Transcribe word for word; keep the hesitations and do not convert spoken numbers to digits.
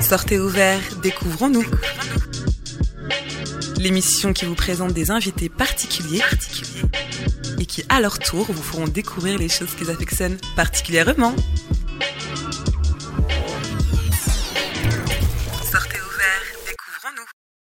Sortez ouverts, découvrons-nous. L'émission qui vous présente des invités particuliers et qui, à leur tour, vous feront découvrir les choses qu'ils affectionnent particulièrement.